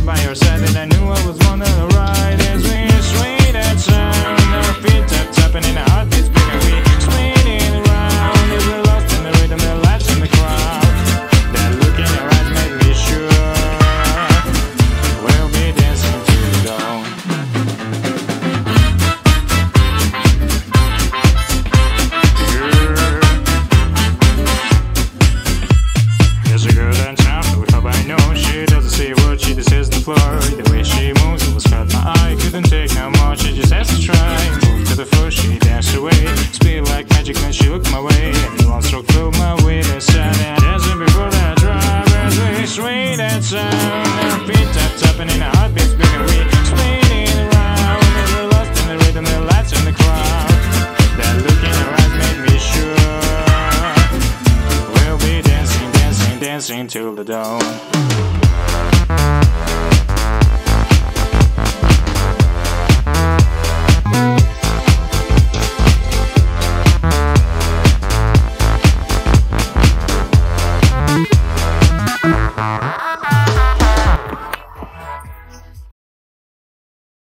by your side, and I knew I was one of the right. As we sway that sound, our feet tapping in our heartbeats, bigger we swaying around. As we're lost in the rhythm, the lights in the crowd. That look in your eyes made me sure we'll be dancing to the dawn. There's a girl downtown who hope I know. She doesn't say a word, she just says the floor. The way she moves, it was caught my eye. Couldn't take no more, she just has to try. Moved to the floor, she danced away. Speed like magic when she looked my way. And one stroke flew my way to side. And dancing before that drive, as we sway that sound. Our feet tapping in our heartbeats, bigger we spinning around. And we're lost in the rhythm, the lights in the crowd. That look in her eyes made me sure we'll be dancing, dancing, dancing till the dawn.